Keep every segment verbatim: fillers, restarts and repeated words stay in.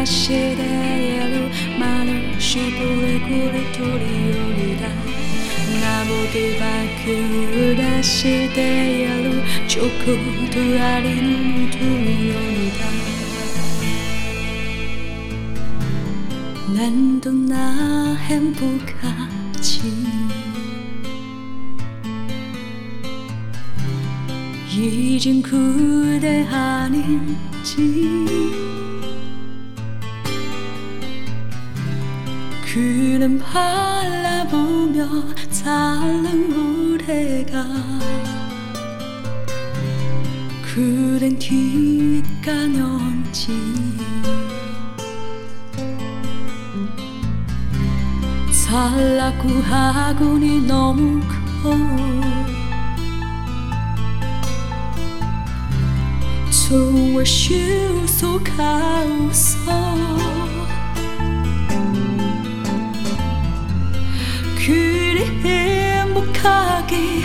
시대로 말을 시부리 구리 도리오리다 나보기 바꾸다 시대로 좋고 두아리는 두리오리다 난도 나 행복하지 이젠 그대 아닌지 그는 바라보며 살는 우리가 그댄 뒷가년지 살라고 하고니 너무 커 좋아 실속하우서 그리 행복하게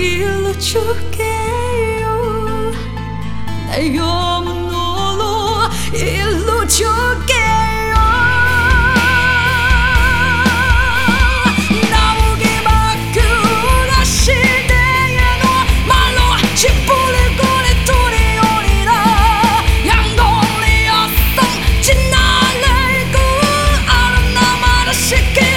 일러줄게요 날 영원으로 일러줄게요 나오게 바꾸라 시대에 너 말로 짓부릴 거리 둘이 오리라 양동리 여성 진나를 그 아름 나마를 시키